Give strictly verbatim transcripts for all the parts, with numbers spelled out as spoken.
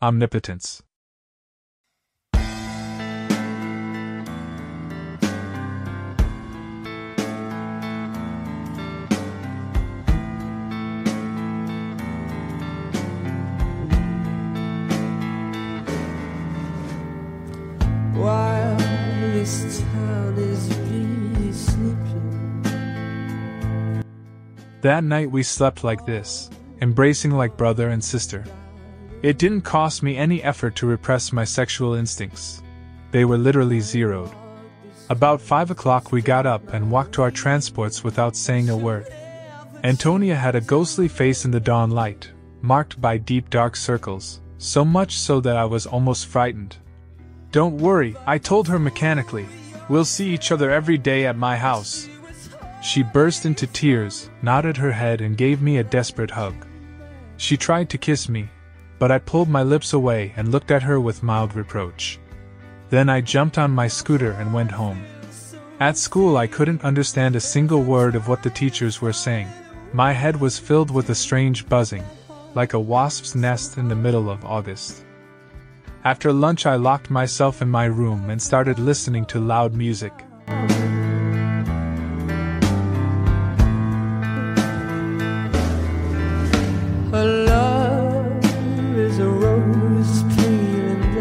omnipotence. While this town is really sleeping. That night we slept like this, embracing like brother and sister. It didn't cost me any effort to repress my sexual instincts. They were literally zeroed. About five o'clock we got up and walked to our transports without saying a word. Antonia had a ghostly face in the dawn light, marked by deep dark circles, so much so that I was almost frightened. "Don't worry," I told her mechanically. "We'll see each other every day at my house." She burst into tears, nodded her head and gave me a desperate hug. She tried to kiss me, but I pulled my lips away and looked at her with mild reproach. Then I jumped on my scooter and went home. At school I couldn't understand a single word of what the teachers were saying. My head was filled with a strange buzzing, like a wasp's nest in the middle of August. After lunch I locked myself in my room and started listening to loud music. Her love is a rose pale and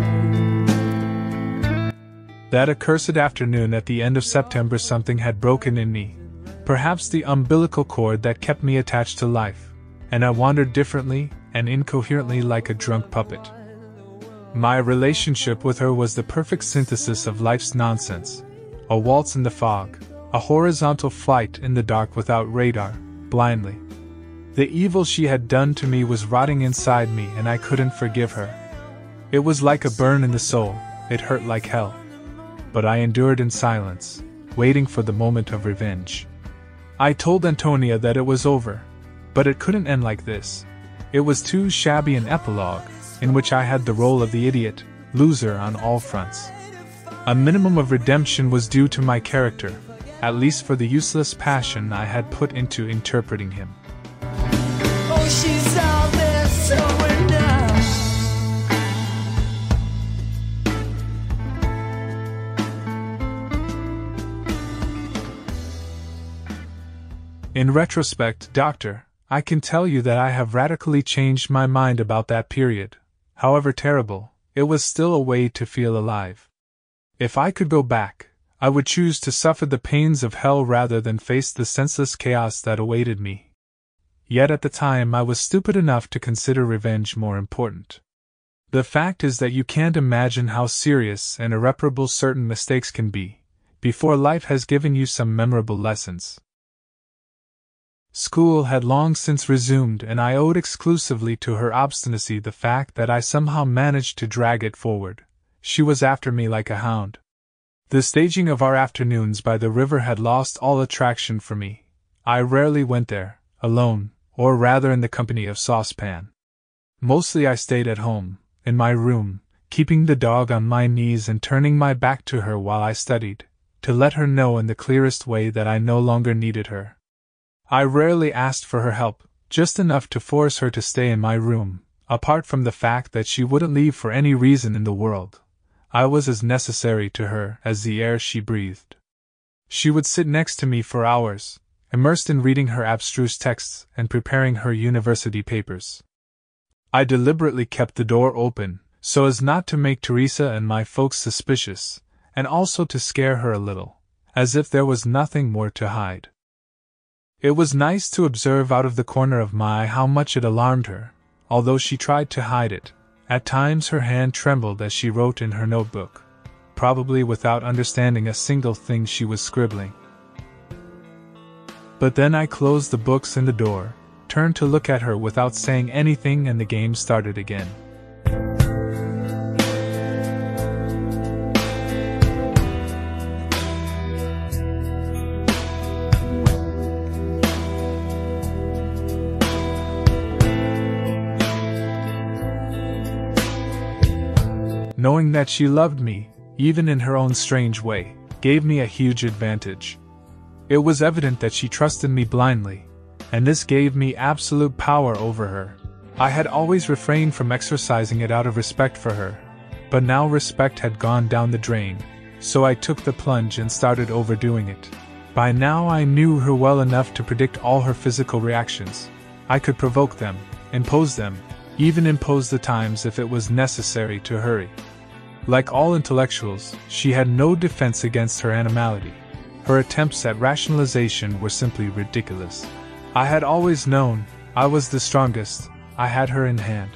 dying. That accursed afternoon at the end of September something had broken in me. Perhaps the umbilical cord that kept me attached to life, and I wandered differently and incoherently like a drunk puppet. My relationship with her was the perfect synthesis of life's nonsense. A waltz in the fog, a horizontal flight in the dark without radar, blindly. The evil she had done to me was rotting inside me and I couldn't forgive her. It was like a burn in the soul, it hurt like hell. But I endured in silence, waiting for the moment of revenge. I told Antonia that it was over, but it couldn't end like this. It was too shabby an epilogue, in which I had the role of the idiot, loser on all fronts. A minimum of redemption was due to my character, at least for the useless passion I had put into interpreting him. Oh, she's out there somewhere now. In retrospect, Doctor, I can tell you that I have radically changed my mind about that period. However terrible, it was still a way to feel alive. If I could go back, I would choose to suffer the pains of hell rather than face the senseless chaos that awaited me. Yet at the time I was stupid enough to consider revenge more important. The fact is that you can't imagine how serious and irreparable certain mistakes can be, before life has given you some memorable lessons. School had long since resumed and I owed exclusively to her obstinacy the fact that I somehow managed to drag it forward. She was after me like a hound. The staging of our afternoons by the river had lost all attraction for me. I rarely went there, alone, or rather in the company of Saucepan. Mostly I stayed at home, in my room, keeping the dog on my knees and turning my back to her while I studied, to let her know in the clearest way that I no longer needed her. I rarely asked for her help, just enough to force her to stay in my room, apart from the fact that she wouldn't leave for any reason in the world. I was as necessary to her as the air she breathed. She would sit next to me for hours, immersed in reading her abstruse texts and preparing her university papers. I deliberately kept the door open, so as not to make Teresa and my folks suspicious, and also to scare her a little, as if there was nothing more to hide. It was nice to observe out of the corner of my eye how much it alarmed her, although she tried to hide it. At times her hand trembled as she wrote in her notebook, probably without understanding a single thing she was scribbling. But then I closed the books and the door, turned to look at her without saying anything, and the game started again. Knowing that she loved me, even in her own strange way, gave me a huge advantage. It was evident that she trusted me blindly, and this gave me absolute power over her. I had always refrained from exercising it out of respect for her, but now respect had gone down the drain, so I took the plunge and started overdoing it. By now I knew her well enough to predict all her physical reactions. I could provoke them, impose them, even impose the times if it was necessary to hurry. Like all intellectuals, she had no defense against her animality. Her attempts at rationalization were simply ridiculous. I had always known I was the strongest. I had her in hand.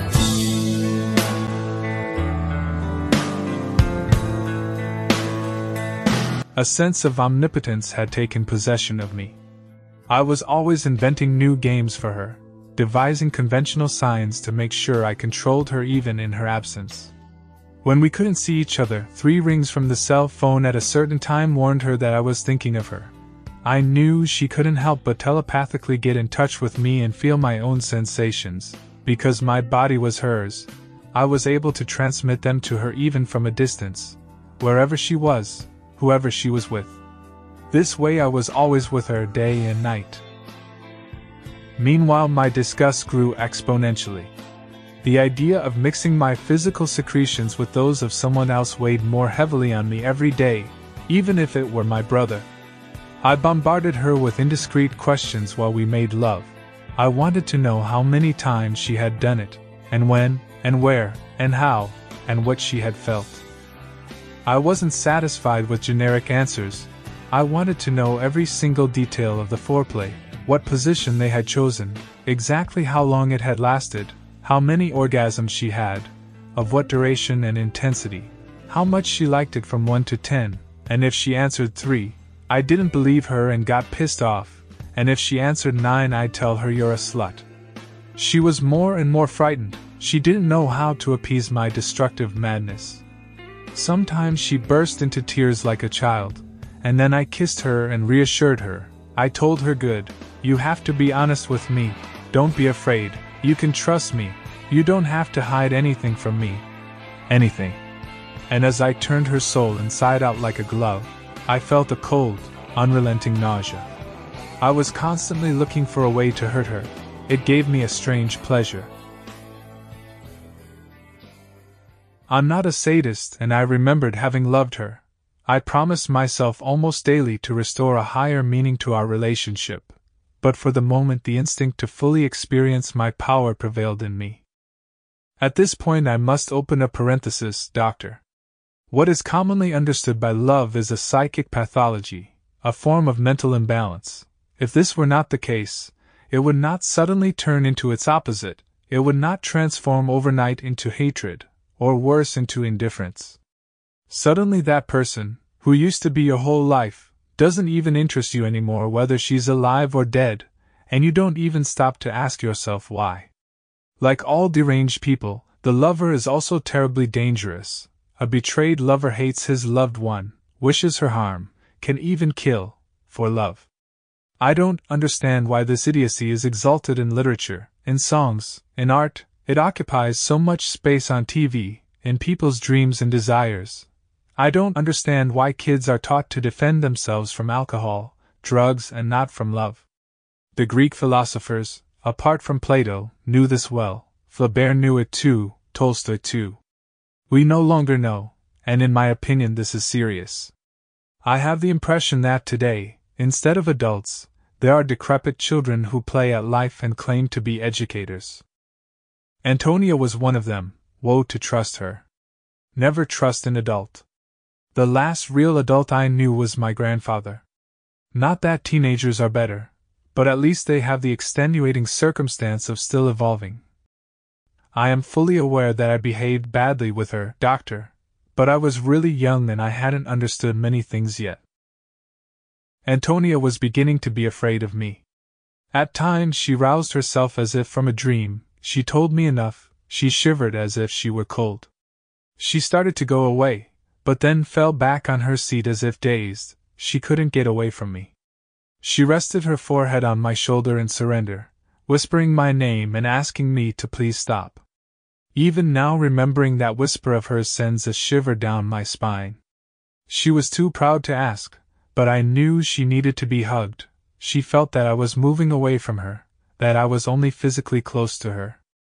A sense of omnipotence had taken possession of me. I was always inventing new games for her, devising conventional signs to make sure I controlled her even in her absence. When we couldn't see each other, three rings from the cell phone at a certain time warned her that I was thinking of her. I knew she couldn't help but telepathically get in touch with me and feel my own sensations. Because my body was hers, I was able to transmit them to her even from a distance, wherever she was, whoever she was with. This way I was always with her day and night. Meanwhile, my disgust grew exponentially. The idea of mixing my physical secretions with those of someone else weighed more heavily on me every day, even if it were my brother. I bombarded her with indiscreet questions while we made love. I wanted to know how many times she had done it, and when, and where, and how, and what she had felt. I wasn't satisfied with generic answers. I wanted to know every single detail of the foreplay, what position they had chosen, exactly how long it had lasted, how many orgasms she had, of what duration and intensity, how much she liked it from one to ten, and if she answered three, I didn't believe her and got pissed off. And if she answered nine, I'd tell her you're a slut. She was more and more frightened. She didn't know how to appease my destructive madness. Sometimes she burst into tears like a child, and then I kissed her and reassured her. I told her, good, you have to be honest with me, don't be afraid, you can trust me, you don't have to hide anything from me. Anything. And as I turned her soul inside out like a glove, I felt a cold, unrelenting nausea. I was constantly looking for a way to hurt her. It gave me a strange pleasure. I'm not a sadist, and I remembered having loved her. I promised myself almost daily to restore a higher meaning to our relationship, but for the moment the instinct to fully experience my power prevailed in me. At this point I must open a parenthesis, Doctor. What is commonly understood by love is a psychic pathology, a form of mental imbalance. If this were not the case, it would not suddenly turn into its opposite, it would not transform overnight into hatred, or worse into indifference. Suddenly that person, who used to be your whole life, doesn't even interest you anymore whether she's alive or dead, and you don't even stop to ask yourself why. Like all deranged people, the lover is also terribly dangerous. A betrayed lover hates his loved one, wishes her harm, can even kill, for love. I don't understand why this idiocy is exalted in literature, in songs, in art. It occupies so much space on T V, in people's dreams and desires. I don't understand why kids are taught to defend themselves from alcohol, drugs, and not from love. The Greek philosophers, apart from Plato, knew this well. Flaubert knew it too, Tolstoy too. We no longer know, and in my opinion this is serious. I have the impression that today, instead of adults, there are decrepit children who play at life and claim to be educators. Antonia was one of them. Woe to trust her. Never trust an adult. The last real adult I knew was my grandfather. Not that teenagers are better, but at least they have the extenuating circumstance of still evolving. I am fully aware that I behaved badly with her, Doctor, but I was really young and I hadn't understood many things yet. Antonia was beginning to be afraid of me. At times she roused herself as if from a dream, she told me enough, she shivered as if she were cold. She started to go away, but then fell back on her seat as if dazed, she couldn't get away from me. She rested her forehead on my shoulder in surrender, whispering my name and asking me to please stop. Even now remembering that whisper of hers sends a shiver down my spine. She was too proud to ask, but I knew she needed to be hugged. She felt that I was moving away from her, that I was only physically close to her.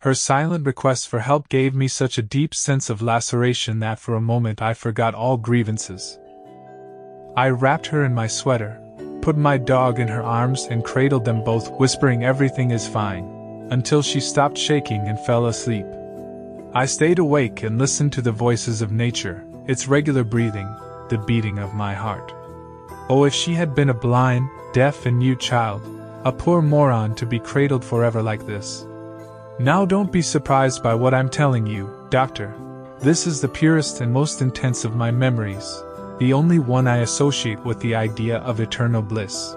Her silent request for help gave me such a deep sense of laceration that for a moment I forgot all grievances. I wrapped her in my sweater, put my dog in her arms and cradled them both, whispering everything is fine, until she stopped shaking and fell asleep. I stayed awake and listened to the voices of nature, its regular breathing, the beating of my heart. Oh, if she had been a blind, deaf and mute child, a poor moron to be cradled forever like this. Now don't be surprised by what I'm telling you, Doctor. This is the purest and most intense of my memories, the only one I associate with the idea of eternal bliss.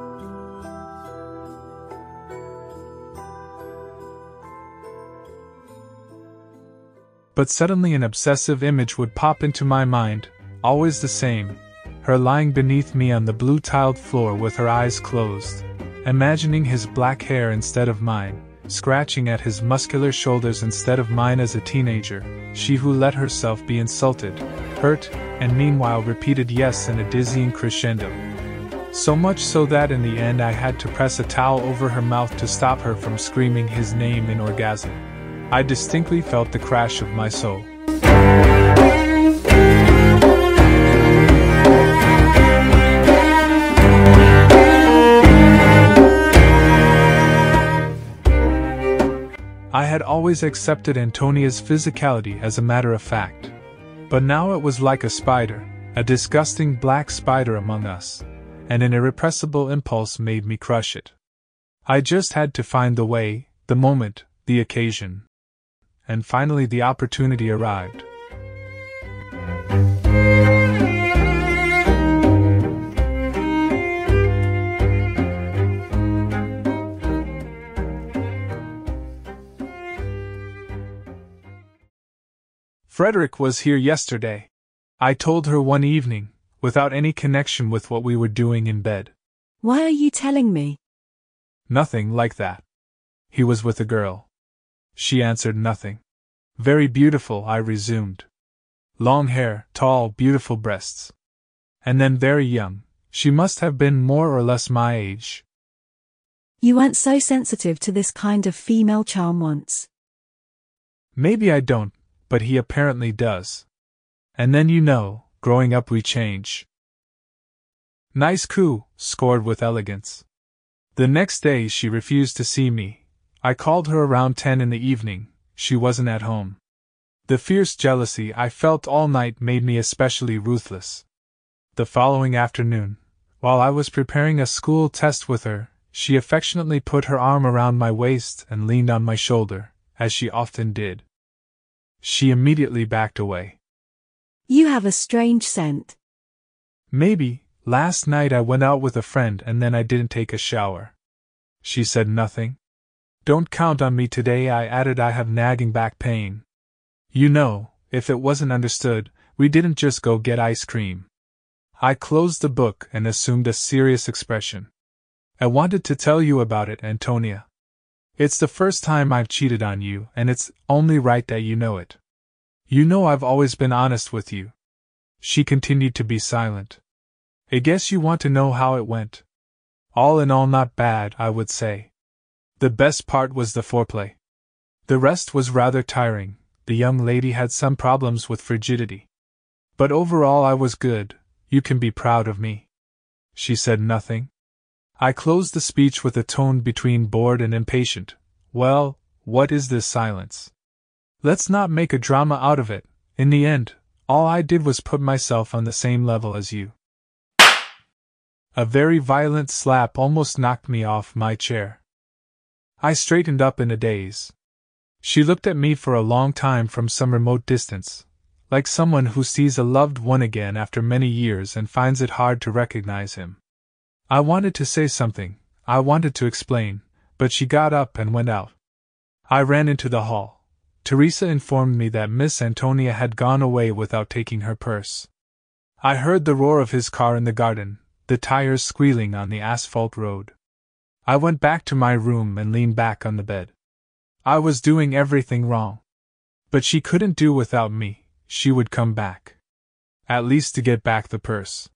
But suddenly an obsessive image would pop into my mind, always the same, her lying beneath me on the blue-tiled floor with her eyes closed, imagining his black hair instead of mine, scratching at his muscular shoulders instead of mine as a teenager, she who let herself be insulted, hurt, and meanwhile repeated yes in a dizzying crescendo. So much so that in the end I had to press a towel over her mouth to stop her from screaming his name in orgasm. I distinctly felt the crash of my soul. I had always accepted Antonia's physicality as a matter of fact. But now it was like a spider, a disgusting black spider among us, and an irrepressible impulse made me crush it. I just had to find the way, the moment, the occasion. And finally the opportunity arrived. Frederick was here yesterday, I told her one evening, without any connection with what we were doing in bed. Why are you telling me? Nothing like that. He was with a girl. She answered nothing. Very beautiful, I resumed. Long hair, tall, beautiful breasts. And then very young. She must have been more or less my age. You weren't so sensitive to this kind of female charm once. Maybe I don't, but he apparently does. And then you know, growing up we change. Nice coup, scored with elegance. The next day she refused to see me. I called her around ten in the evening, she wasn't at home. The fierce jealousy I felt all night made me especially ruthless. The following afternoon, while I was preparing a school test with her, she affectionately put her arm around my waist and leaned on my shoulder, as she often did. She immediately backed away. You have a strange scent. Maybe, last night I went out with a friend and then I didn't take a shower. She said nothing. Don't count on me today, I added. I have nagging back pain. You know, if it wasn't understood, we didn't just go get ice cream. I closed the book and assumed a serious expression. I wanted to tell you about it, Antonia. It's the first time I've cheated on you, and it's only right that you know it. You know I've always been honest with you. She continued to be silent. I guess you want to know how it went. All in all, not bad, I would say. The best part was the foreplay. The rest was rather tiring. The young lady had some problems with frigidity. But overall I was good. You can be proud of me. She said nothing. I closed the speech with a tone between bored and impatient. Well, what is this silence? Let's not make a drama out of it. In the end, all I did was put myself on the same level as you. A very violent slap almost knocked me off my chair. I straightened up in a daze. She looked at me for a long time from some remote distance, like someone who sees a loved one again after many years and finds it hard to recognize him. I wanted to say something, I wanted to explain, but she got up and went out. I ran into the hall. Teresa informed me that Miss Antonia had gone away without taking her purse. I heard the roar of his car in the garden, the tires squealing on the asphalt road. I went back to my room and leaned back on the bed. I was doing everything wrong. But she couldn't do without me, she would come back. At least to get back the purse.